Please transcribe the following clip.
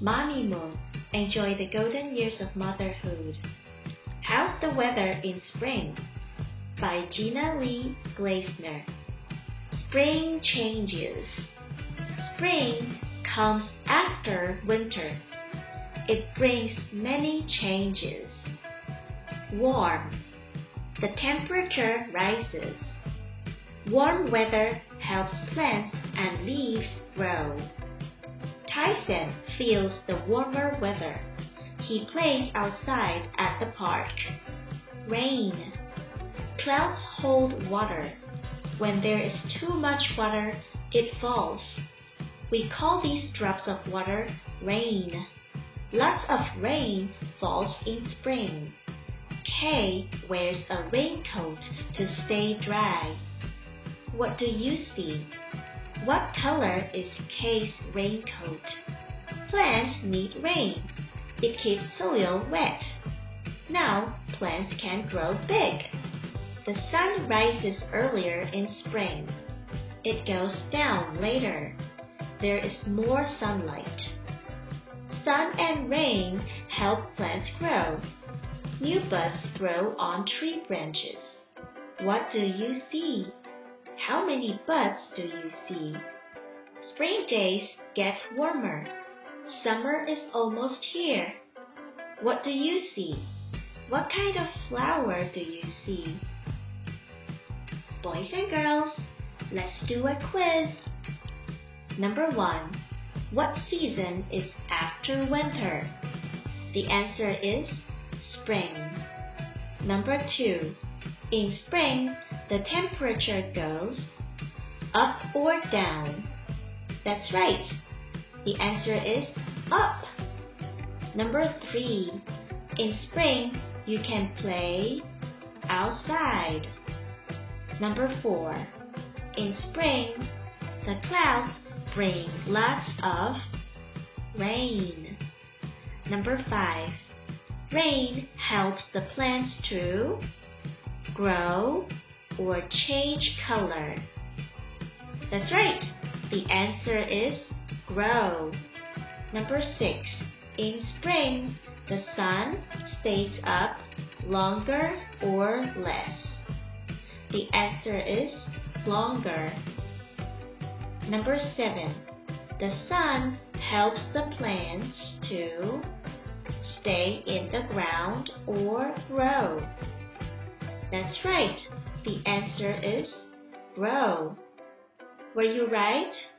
Mommy Moon, enjoy the golden years of motherhood. How's the weather in spring? By Gina Lee Gleisner. Spring changes. Spring comes after winter. It brings many changes. Warm. The temperature rises. Warm weather helps plants and leaves grow. Tyson feels the warmer weather. He plays outside at the park. Rain. Clouds hold water. When there is too much water, it falls. We call these drops of water rain. Lots of rain falls in spring. Kay wears a raincoat to stay dry. What do you see? What color is Kay's raincoat? Plants need rain. It keeps soil wet. Now plants can grow big. The sun rises earlier in spring. It goes down later. There is more sunlight. Sun and rain help plants grow. New buds grow on tree branches. What do you see? How many buds do you see? Spring days get warmer. Summer is almost here. What do you see? What kind of flower do you see? Boys and girls, let's do a quiz. Number 1. What season is after winter? The answer is spring. Number 2. In spring, the temperature goes up or down? That's right. The answer is up. Number 3. In spring, you can play outside. Number 4. In spring, the clouds bring lots of rain. Number 5. Rain helps the plants to grow or change color. That's right. The answer is grow. Number 6. In spring, the sun stays up longer or less. The answer is longer. Number 7. The sun helps the plants to stay in the ground or grow. That's right. The answer is grow. Were you right?